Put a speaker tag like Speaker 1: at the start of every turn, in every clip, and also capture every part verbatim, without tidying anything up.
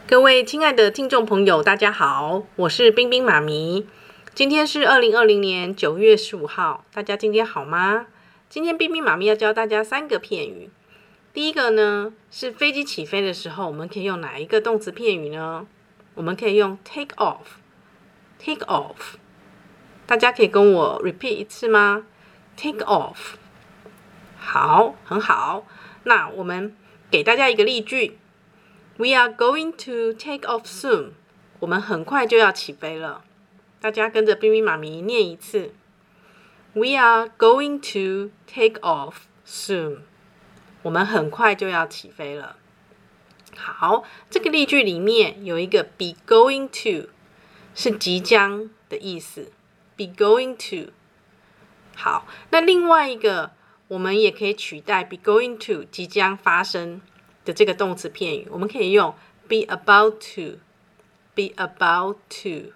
Speaker 1: 各位亲爱的听众朋友，大家好，我是冰冰妈咪。今天是二零二零年九月十五号，大家今天好吗？今天冰冰妈咪要教大家三个片语。第一个呢，是飞机起飞的时候，我们可以用哪一个动词片语呢？我们可以用 take off。take off， 大家可以跟我 repeat 一次吗？ take off。 好，很好。那我们给大家一个例句。We are going to take off soon. 我们很快就要起飞了。大家跟着冰冰妈咪念一次。We are going to take off soon. 我们很快就要起飞了。好，这个例句里面有一个 be going to， 是即将的意思。be going to。好，那另外一个我们也可以取代 be going to 即将发生的这个动词片语，我们可以用 be about to。 be about to。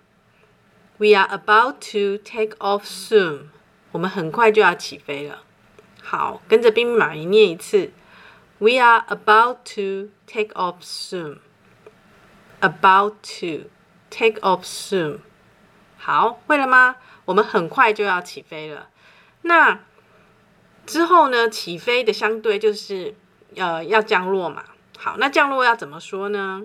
Speaker 1: We are about to take off soon. 我们很快就要起飞了。好，跟着冰冰妈咪念一次。 We are about to take off soon. About to take off soon. 好，会了吗？我们很快就要起飞了。那之后呢，起飞的相对就是呃，要降落嘛。好，那降落要怎么说呢？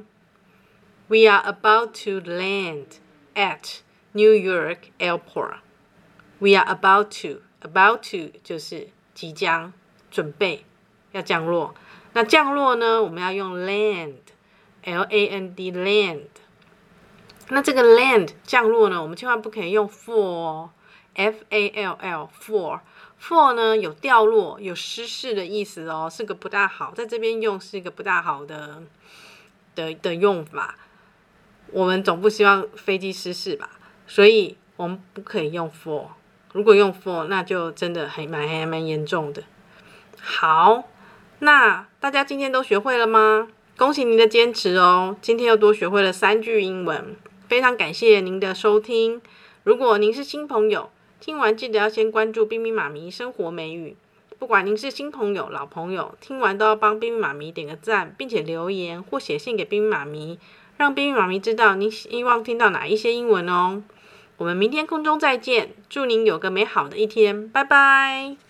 Speaker 1: We are about to land at New York Airport. We are about to. About to 就是即将准备要降落。那降落呢，我们要用 land. L A N D land. 那这个 land 降落呢，我们千万不可以用 fall 哦。F A L L fall。fall 呢有掉落有失事的意思哦，是个不大好，在这边用是一个不大好的的的用法。我们总不希望飞机失事吧，所以我们不可以用 fall。 如果用 fall 那就真的还蛮还蛮严重的。好，那大家今天都学会了吗？恭喜您的坚持哦，今天又多学会了三句英文，非常感谢您的收听。如果您是新朋友，听完记得要先关注冰冰妈咪生活美语。不管您是新朋友老朋友，听完都要帮冰冰妈咪点个赞，并且留言或写信给冰冰妈咪，让冰冰妈咪知道您希望听到哪一些英文哦。我们明天空中再见，祝您有个美好的一天，拜拜。